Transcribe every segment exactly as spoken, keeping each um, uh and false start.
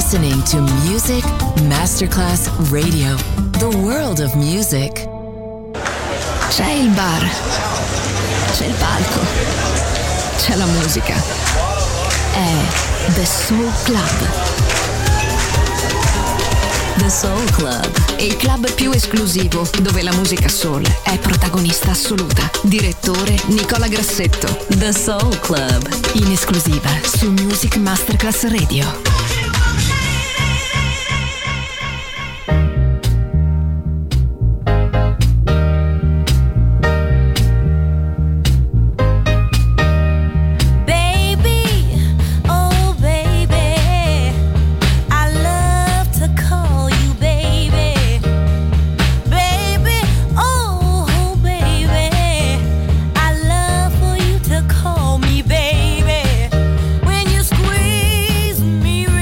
listening to Music Masterclass Radio, the world of music. C'è il bar, c'è il palco, c'è la musica. È The Soul Club. The Soul Club, il club più esclusivo dove la musica soul è protagonista assoluta. Direttore Nicola Grassetto. The Soul Club, in esclusiva su Music Masterclass Radio. Me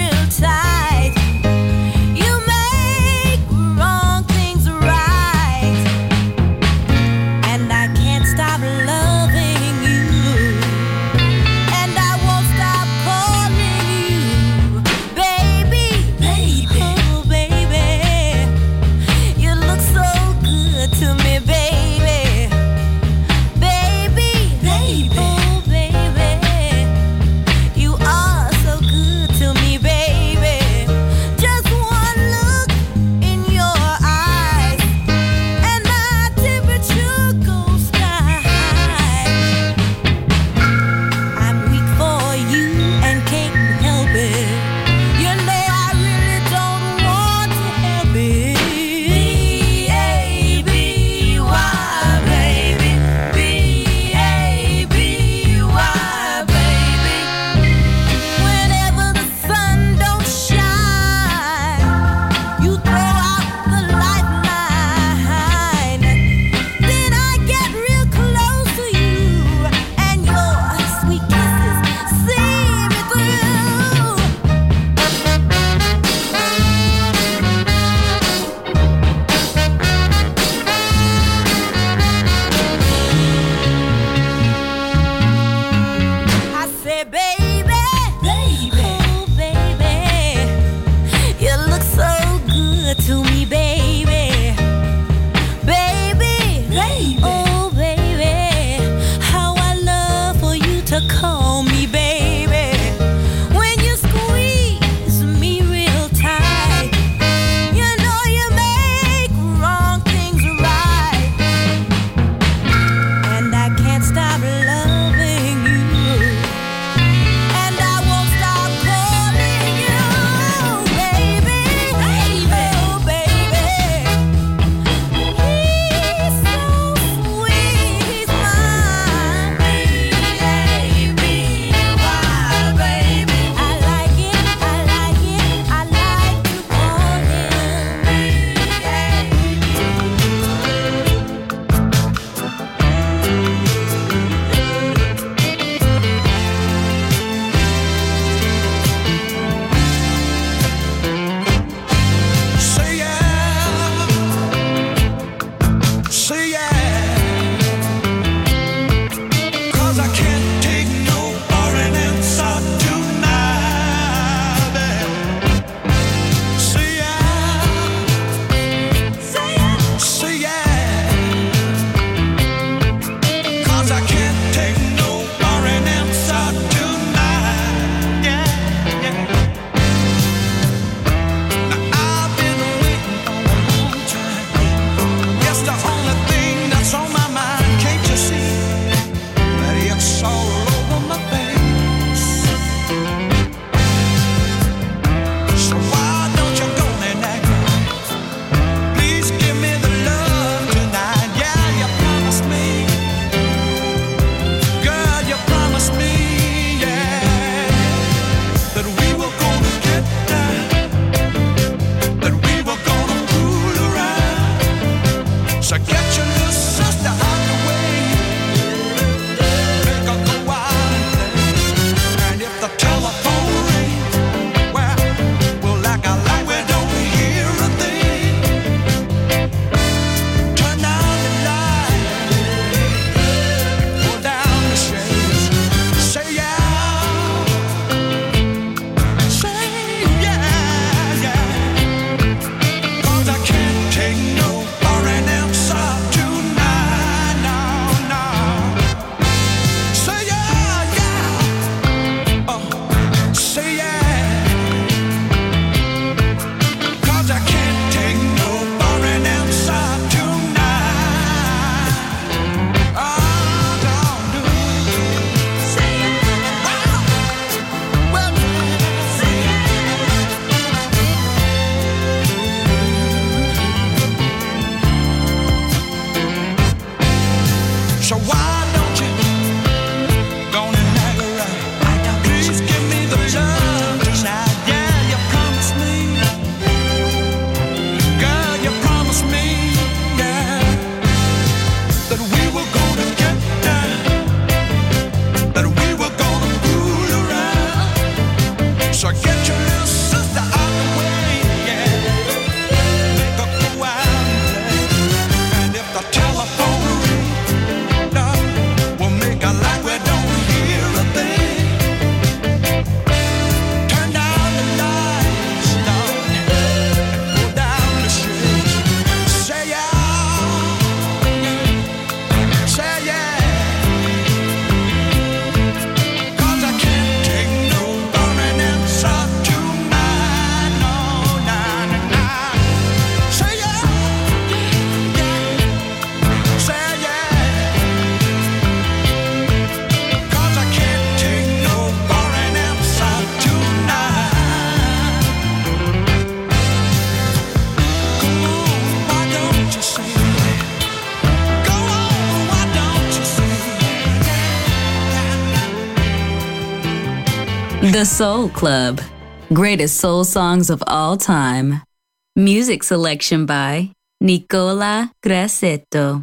The Soul Club. Greatest soul songs of all time. Music selection by Nicola Grassetto.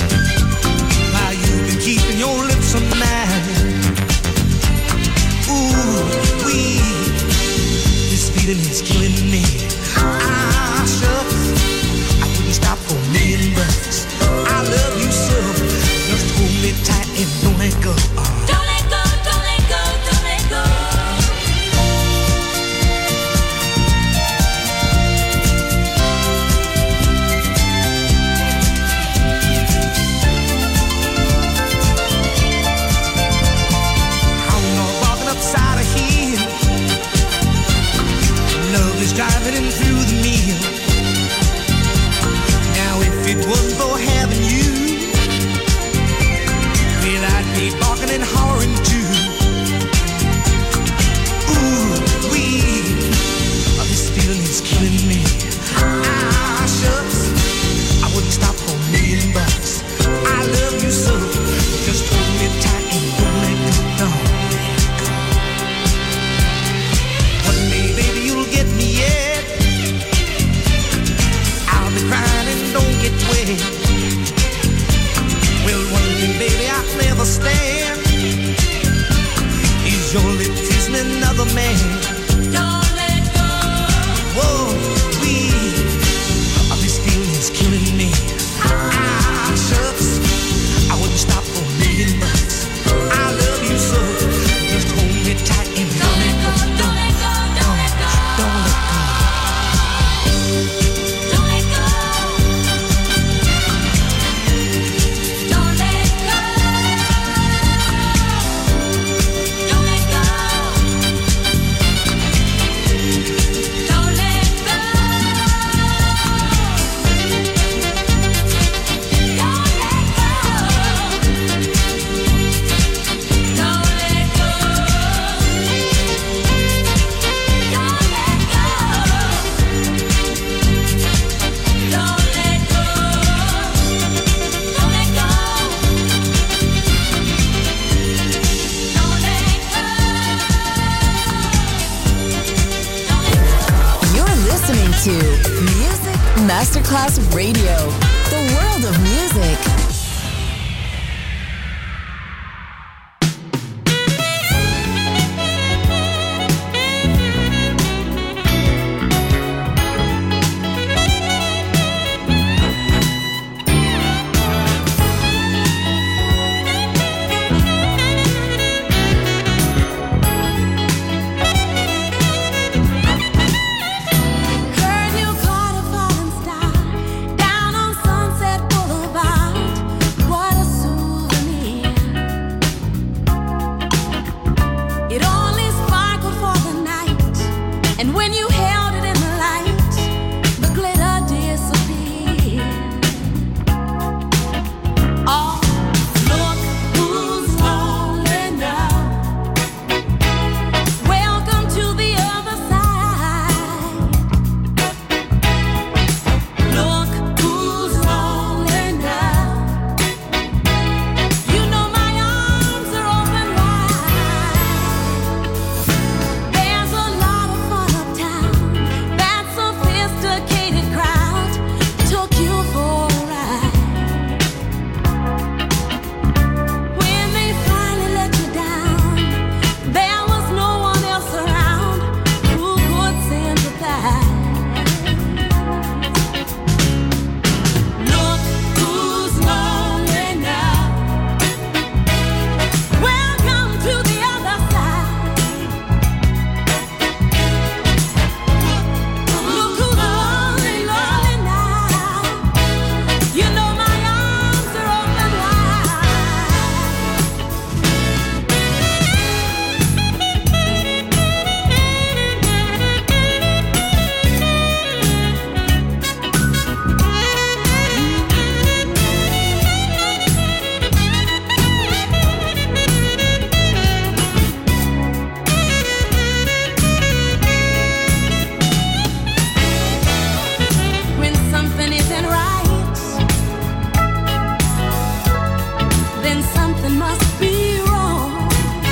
Ooh, Well, one thing, baby, I'll never stand is your lip kissing another man. Don't let go. Whoa, please, oh, this feeling's killing me. Ah, shucks, I wouldn't stop for a million bucks. I love you so, just hold me tight and don't let go. Don't let go, don't let go, don't let go. Don't let go. Don't let go. Don't let go. Don't let go. To Music Masterclass Radio, the world of music. Heard you caught a falling star down on Sunset Boulevard. What a souvenir. It only sparkled for the night, and when you held it in the light, the glitter disappeared. Oh, look who's lonely now. Welcome to the other side. Look who's lonely now. You know my arms are open wide. There's a lot of fun uptown. That sophisticated crowd took you for a ride. When they finally let you down, there was no one else around who could sympathize. Look who's lonely now. Welcome to the other side. Look who's lonely, lonely now. You know my arms are open When something isn't right, then something must be wrong.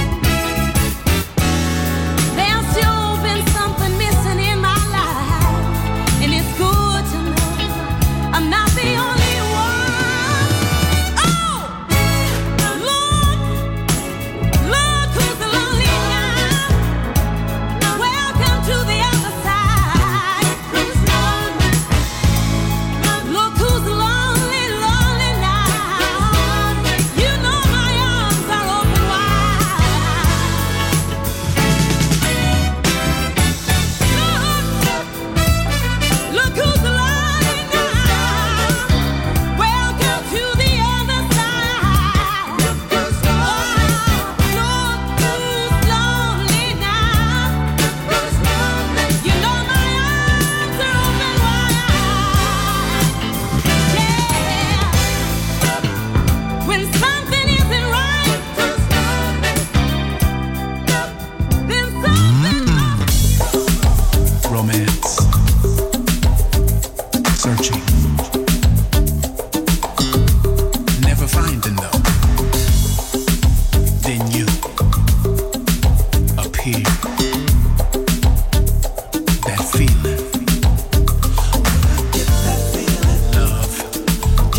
There's sure been something missing in my life, and it's good to know I'm not the only one. Oh, look, look who's lonely now. Welcome to the other side. Who's lonely? Look who's lonely, lonely now. You know my arms are open wide. Look, look who's lonely now. Welcome to the other side. Look who's lonely. Look who's lonely now. Who's lonely? You know my arms are open wide. Yeah. When something isn't right, then something Romance. Searching. Never finding though. Then you appear. That feeling. Love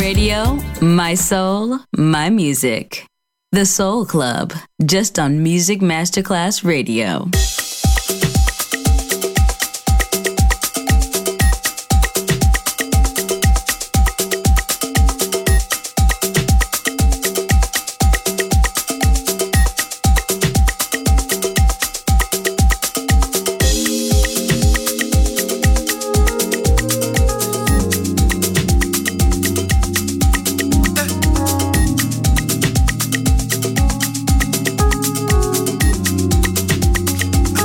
radio, my soul, my music. The Soul Club, just on Music Masterclass Radio. I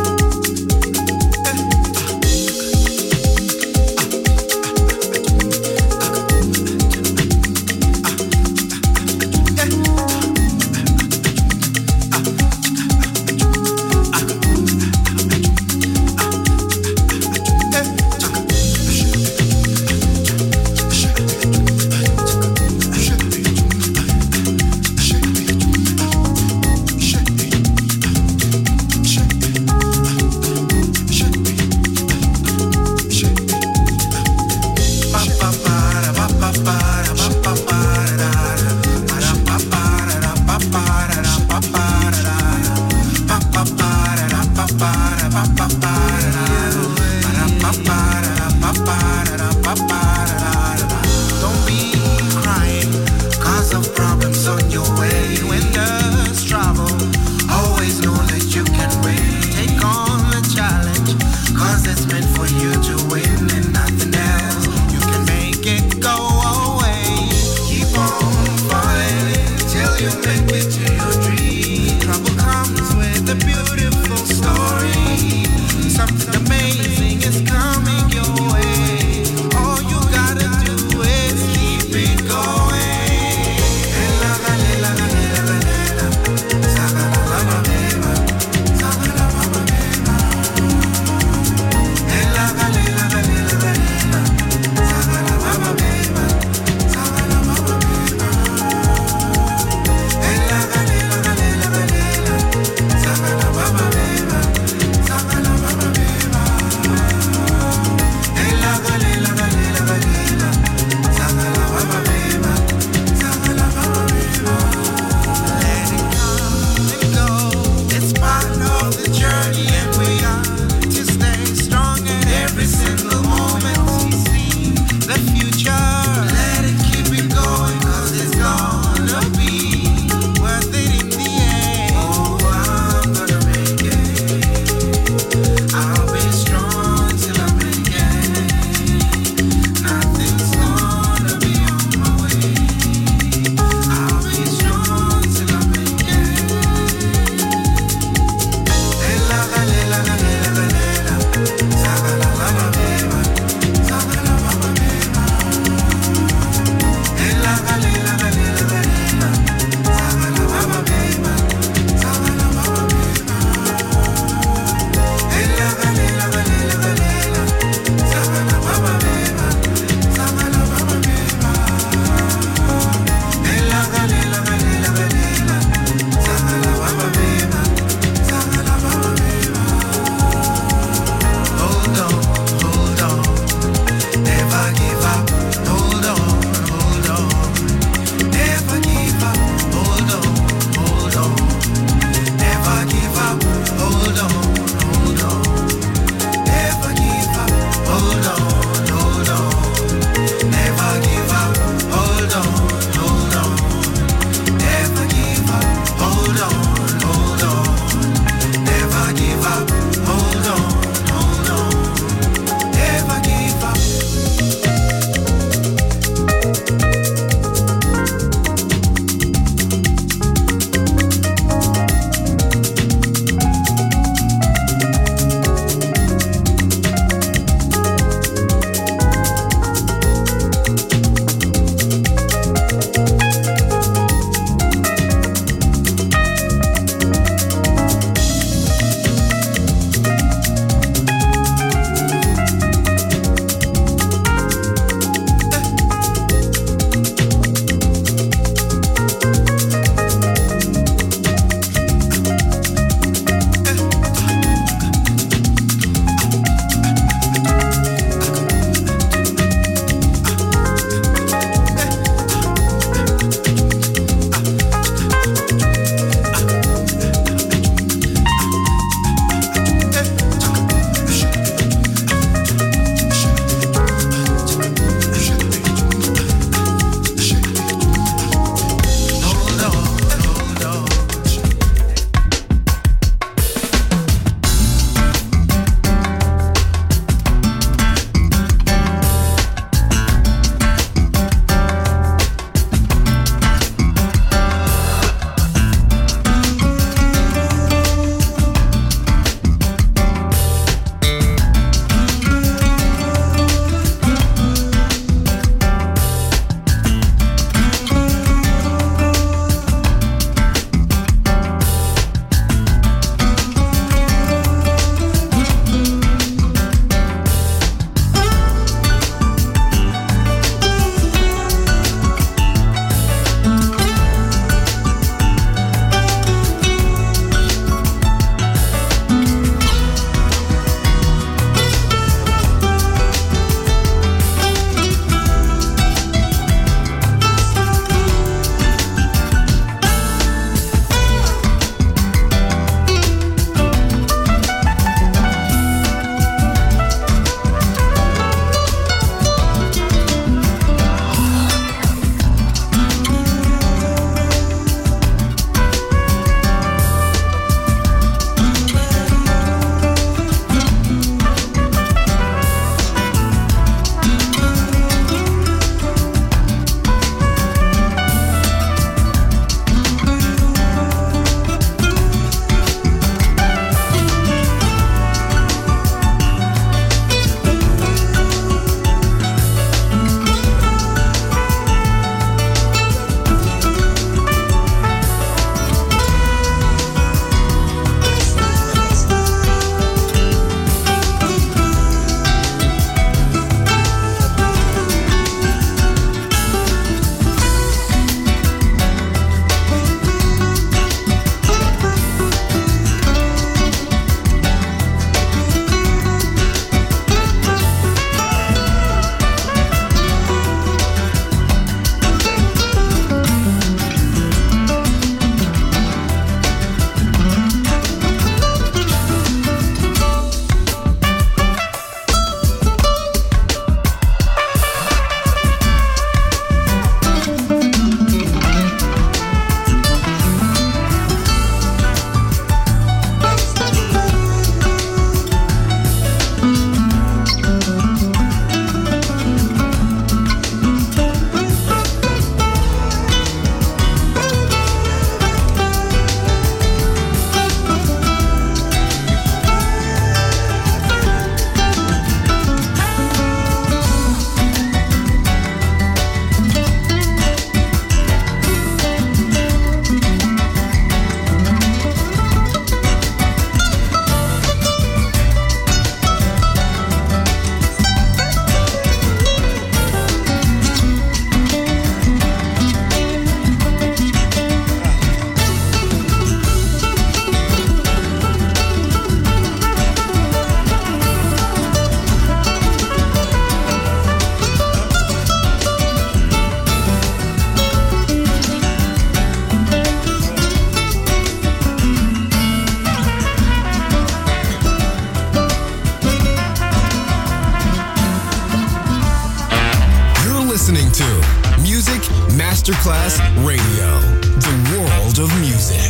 Masterclass Radio, the world of music.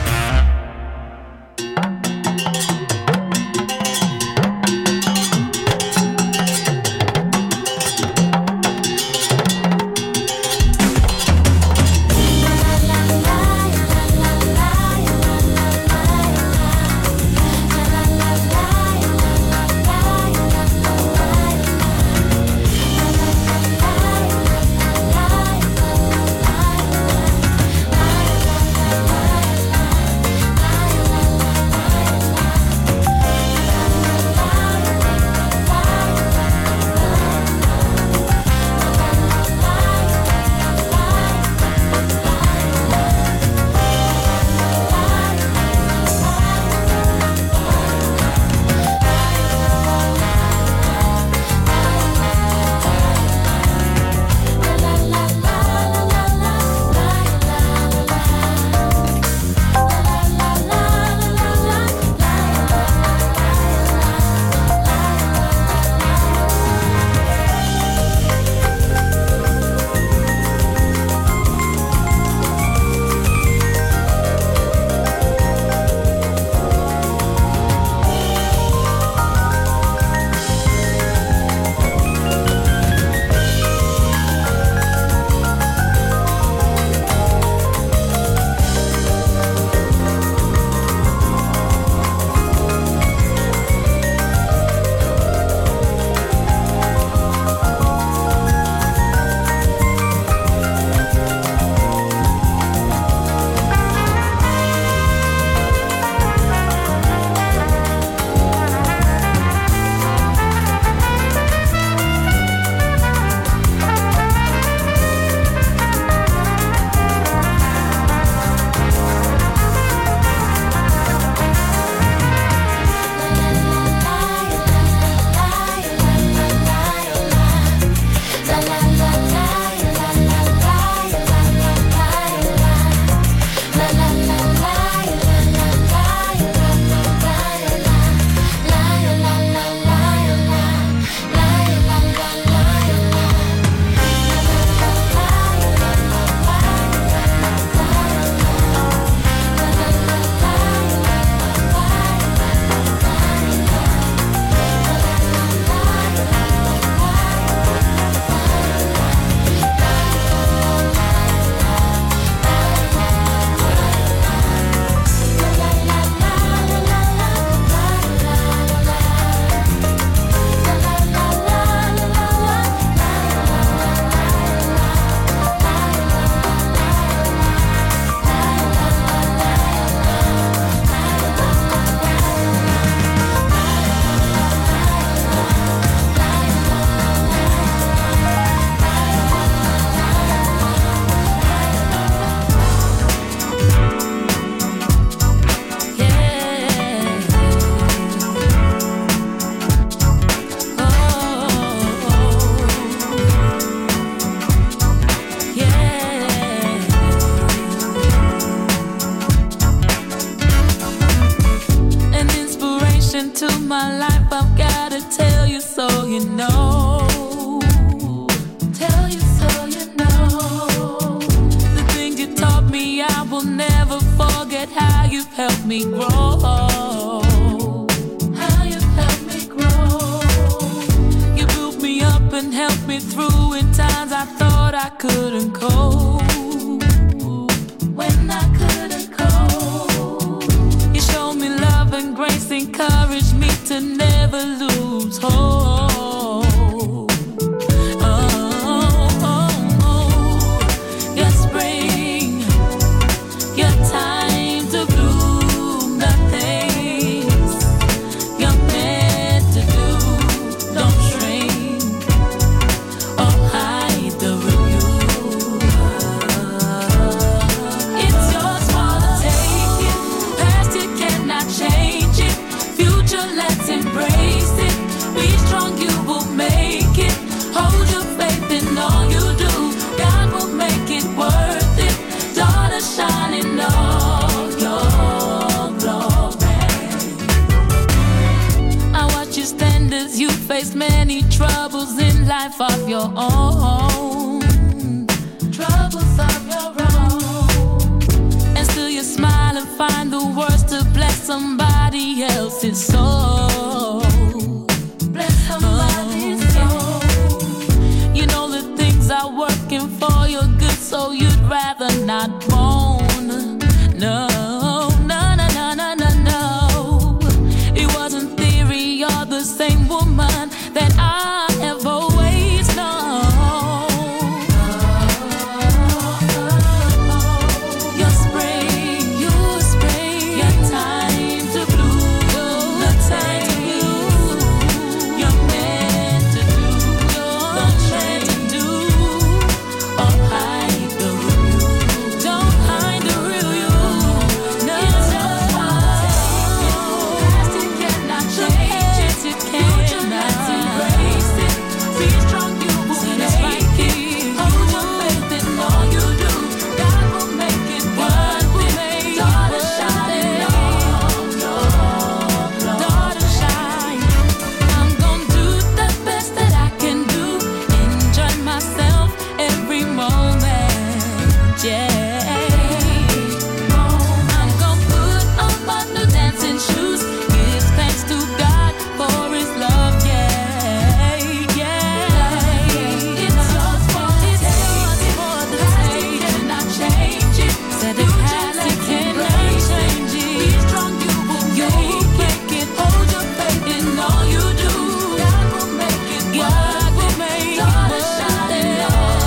helped me grow. How you've helped me grow. You built me up and helped me through in times I thought I couldn't cope. When I couldn't cope, you showed me love and grace, encouraged me to never lose hope. You faced many troubles in life of your own. Troubles not born. No, no, no, no, no, no, no. It wasn't theory, you're the same woman that I have always known. Your spring, your spring, your time to bloom, the time to bloom. You're meant to do, you're meant to do. Oh, hide the real, don't hide the real you. No, it's just past it cannot change it. It cannot embrace it. Be strong, you will make it. Hold your faith in all you do. God will make it. God will make it. Daughter shine, daughter shine. I'm gonna do the best that I can do. Enjoy myself every moment. Yeah. I'm gonna put on my new dancing shoes. Give thanks to God for His love. Yeah, yeah. It's yours for the taking. Past it cannot change it. Said the past it cannot change it. Be strong, you will make it. Hold your faith in all you do. God will make it. God will make it. Daughter shine,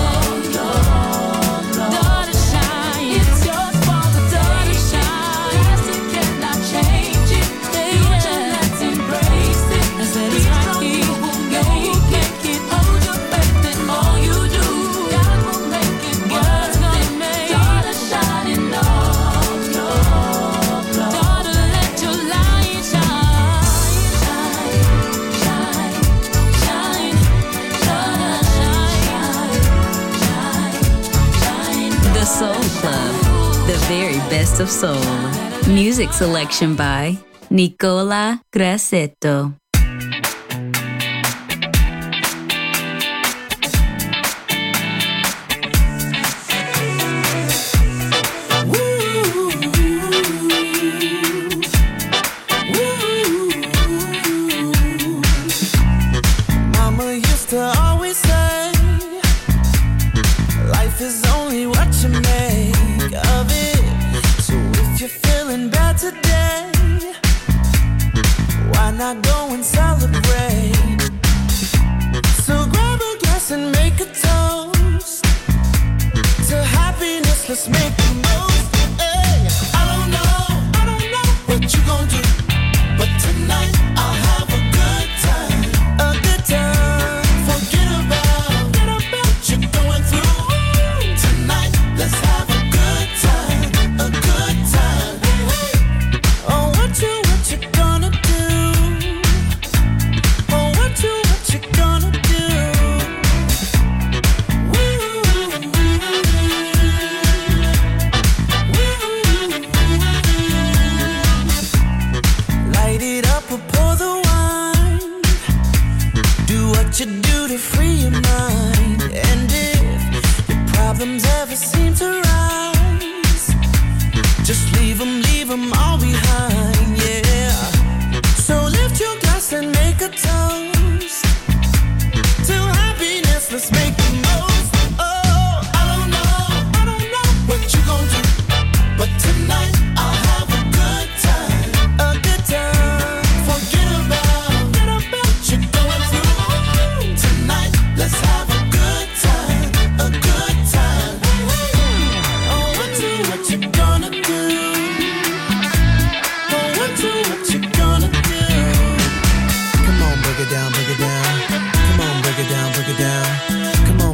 daughter shine. It's yours for the daughter shine. Past it cannot change it. Future, let's embrace it. I said it's right here. You will make it. Hold your faith in all you do. God will make it. God's gonna make it. Daughter shining on your daughter, let your light shine, shine, shine, shine, shine, shine, shine. The Soul Club, the very best of soul. Music selection by Nicola Grassetto. Mama used to always say, life is only what you make of it. So if you're feeling bad today, why not go and celebrate? So grab a glass and make a toast to happiness. Let's make the most. Hey, I don't know, I don't know what you gon' do, but tonight I'll have a good time, a good time. Forget about, forget about what you're going through. Tonight, let's have a good time, a good time. Oh, what you, what you gonna do? Oh, what you, what you gonna do? Light it up or pour the wine. Do what you do to free your mind. And if your problems ever seem to rise, just leave them, leave them all behind, yeah. So lift your glass and make a toast to happiness. Let's make the most. Oh, I don't know, I don't know what you gon' do, but tonight I'll have a good time, a good time. Forget about, forget about what you're going through. Tonight, let's have a good time, a good time. Oh, what you, what you gonna do? Oh, what you, what you gonna do? Come on, break it down, break it down. Come on, break it down, break it down. Come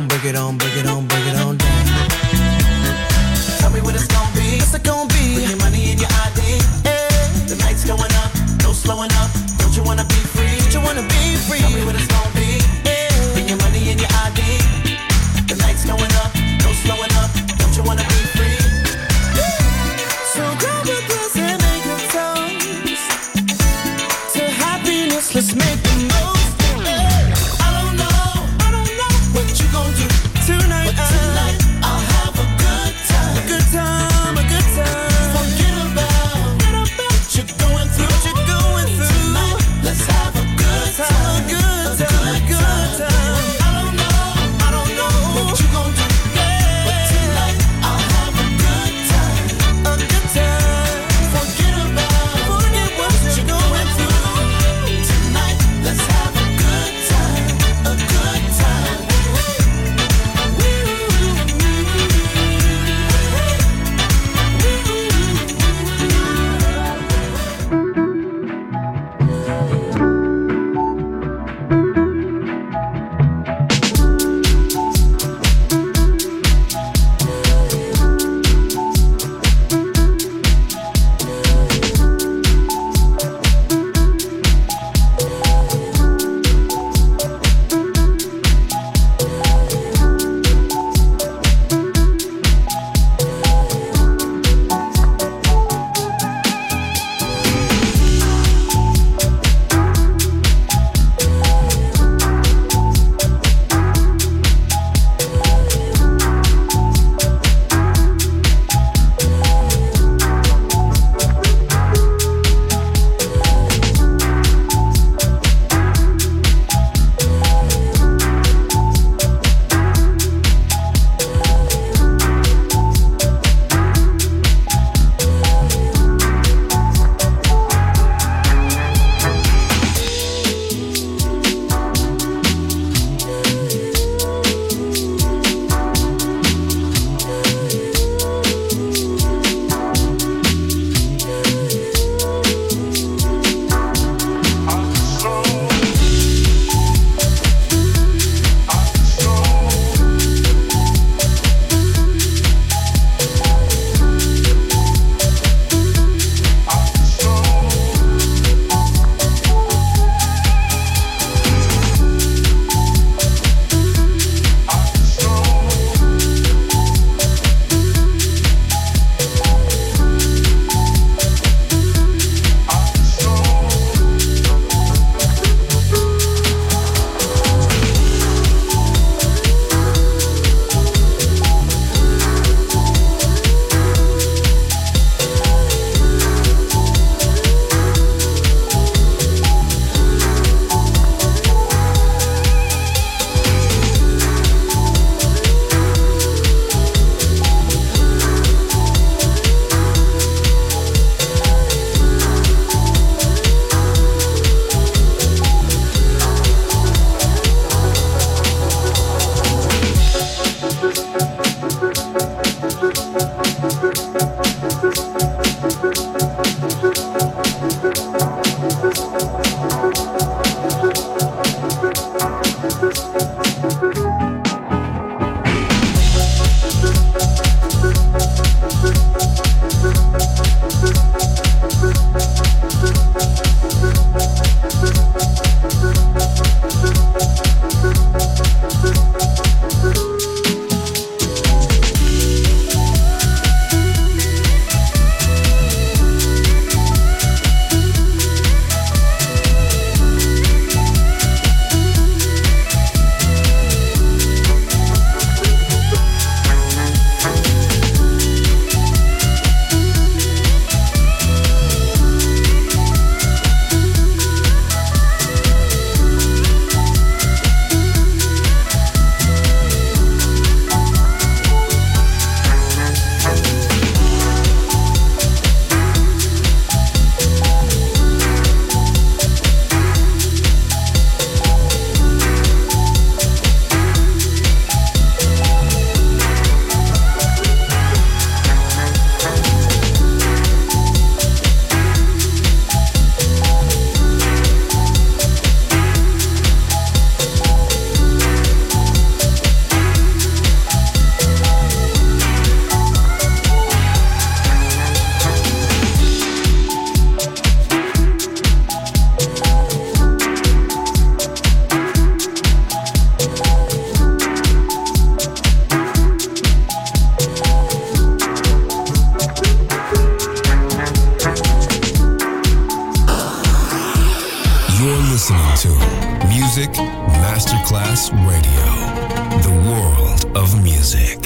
Masterclass Radio, the world of music.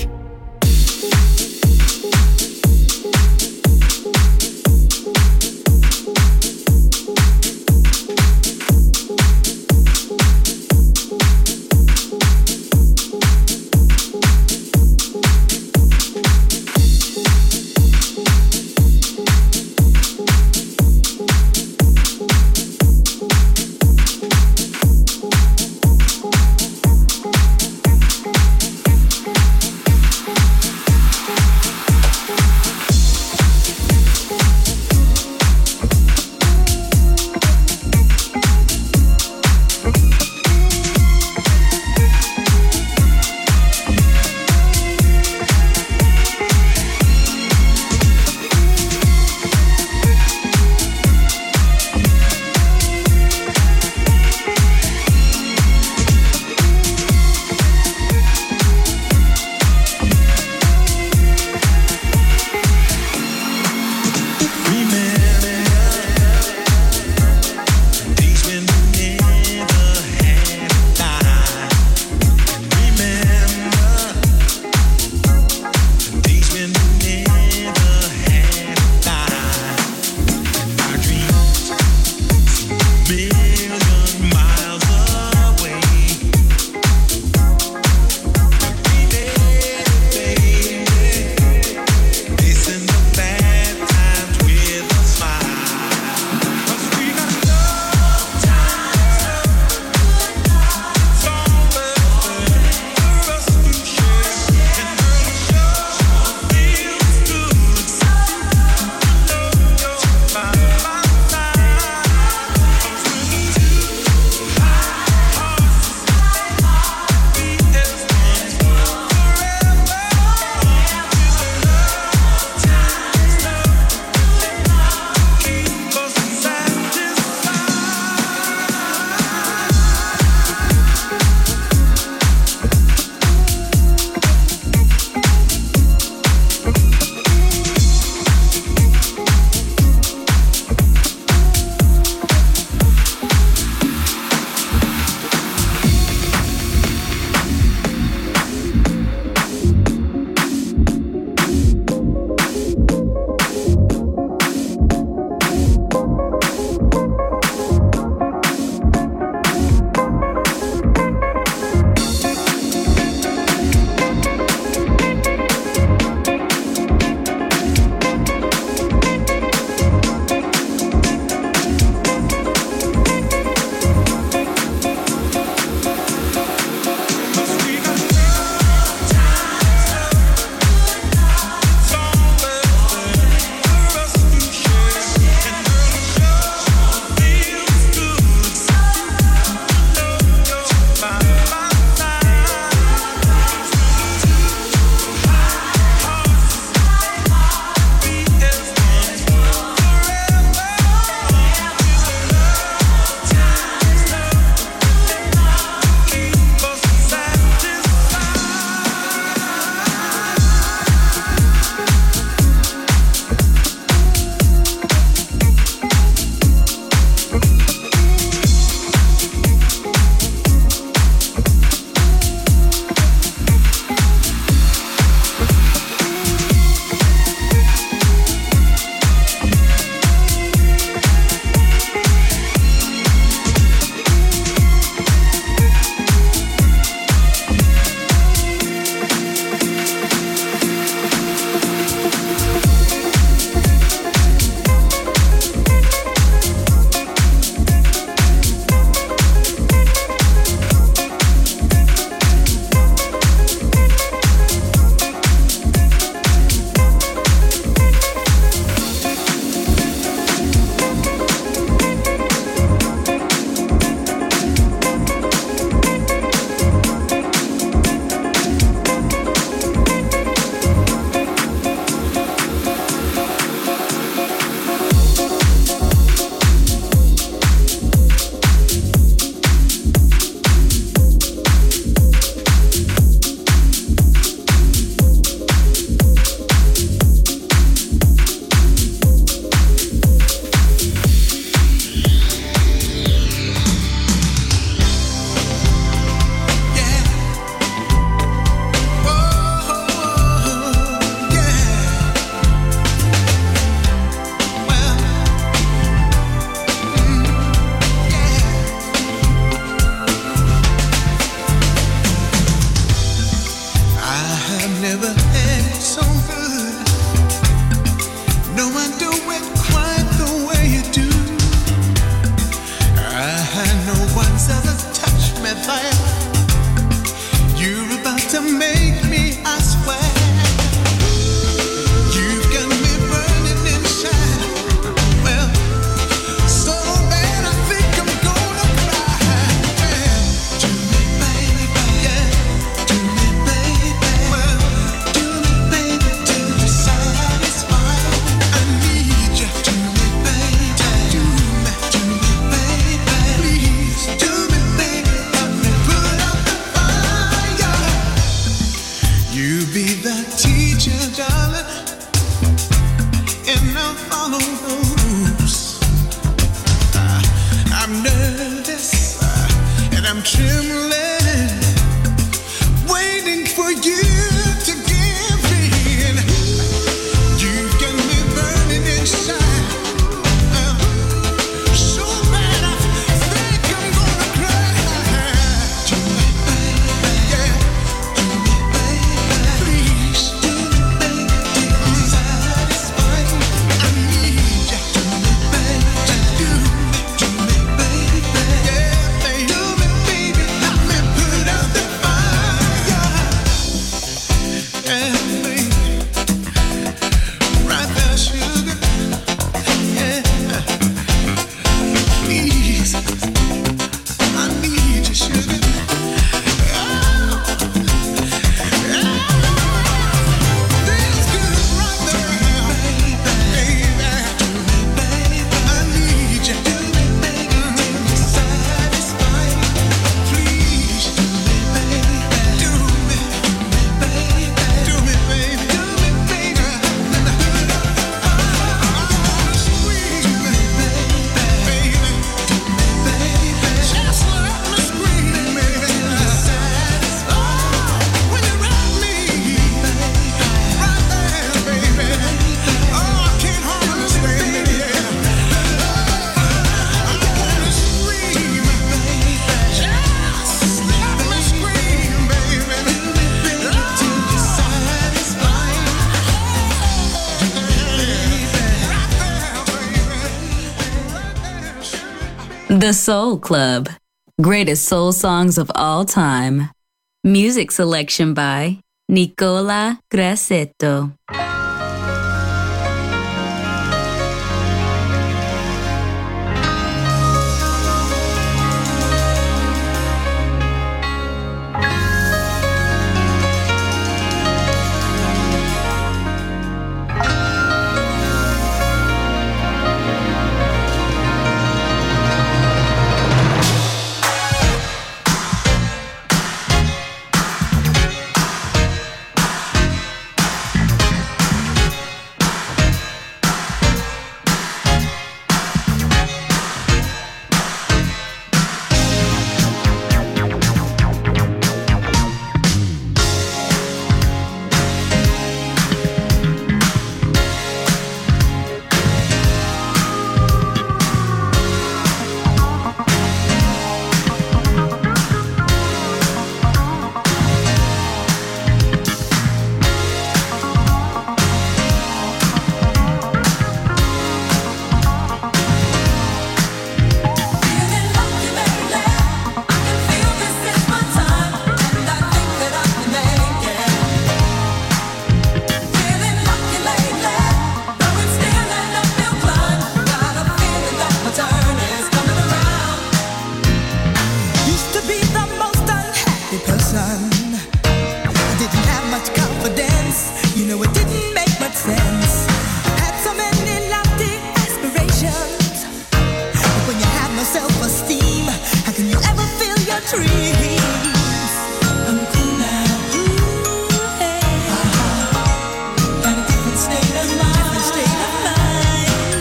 so good. No one do it quite the way you do. I know once ever touched me there. You're about to make me, I swear. You've got me burning inside. Well, so bad I think I'm gonna cry. Yeah. Do me, baby, yeah. Do me, baby. Well, do me, baby, till you're satisfied. I need you. Do me, baby. Do me, do me, baby. Please, do me, baby. Help me put out the fire. You be the teacher, darling, and I'll follow the rules. Uh, I'm nervous uh, and I'm trembling, waiting for you to give in. You've got me burning inside. Uh, so bad I think I'm gonna cry. Do me, baby, yeah. Do me, baby, please. Do me, baby, till you're satisfied. I need you. Do me, baby, do me, do me, baby, yeah, baby. Do me, baby, help me put out the fire. Yeah, baby, right there, sugar. Yeah, please, I need you, sugar. Oh, feels good right there, baby. I need you. Do me, baby, till you're satisfied. Please, do me, baby. Do me, baby. Do me, baby. Do me, baby. Let the hood up. Oh, scream, baby. Do me, baby. Just let me scream, baby. Oh, when you wrap me right there, baby. Oh, I can't hardly stand it. Yeah. I wanna scream, just let me scream, baby. Till you're satisfied. The Soul Club. Greatest soul songs of all time. Music selection by Nicola Grassetto. Used to be the most unhappy person. I didn't have much confidence. You know, it didn't make much sense. Had so many lofty aspirations. But when you have no self-esteem, how can you ever feel your dreams? I'm cool now. Ooh, hey. Got a different state of mind. Different state of mind.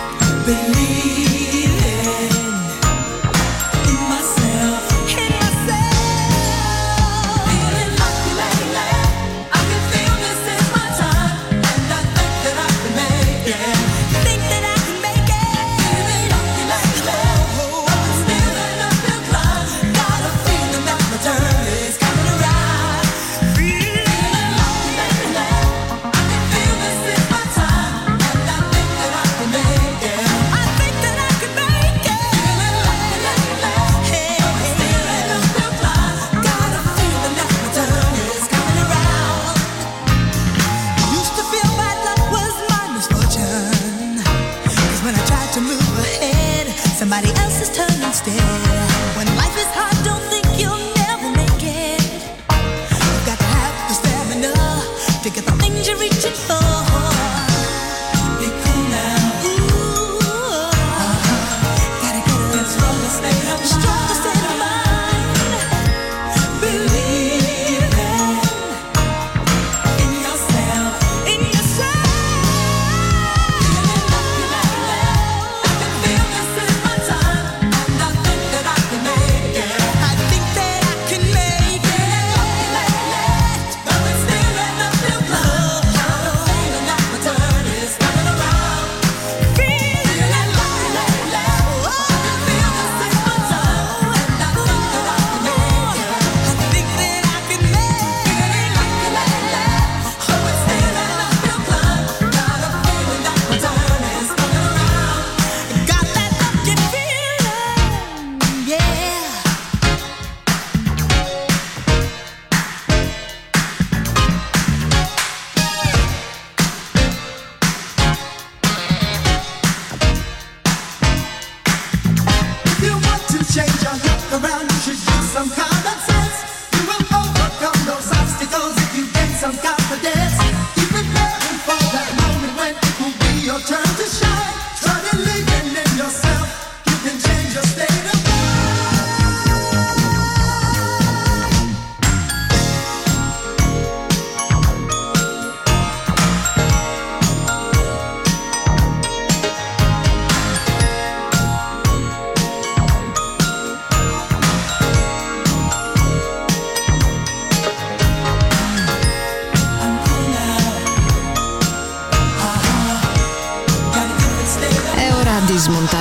Believing in myself. In myself. Feeling lucky lately. I can feel this is my time, and I think that I can make it. Think that I can make it. Feeling lucky lately. But still in a few climb. Got a feeling that my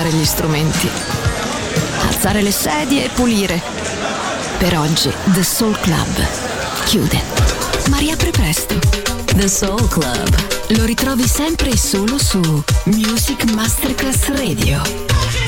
suonare gli strumenti, alzare le sedie e pulire. Per oggi The Soul Club chiude, ma riapre presto. The Soul Club. Lo ritrovi sempre e solo su Music Masterclass Radio.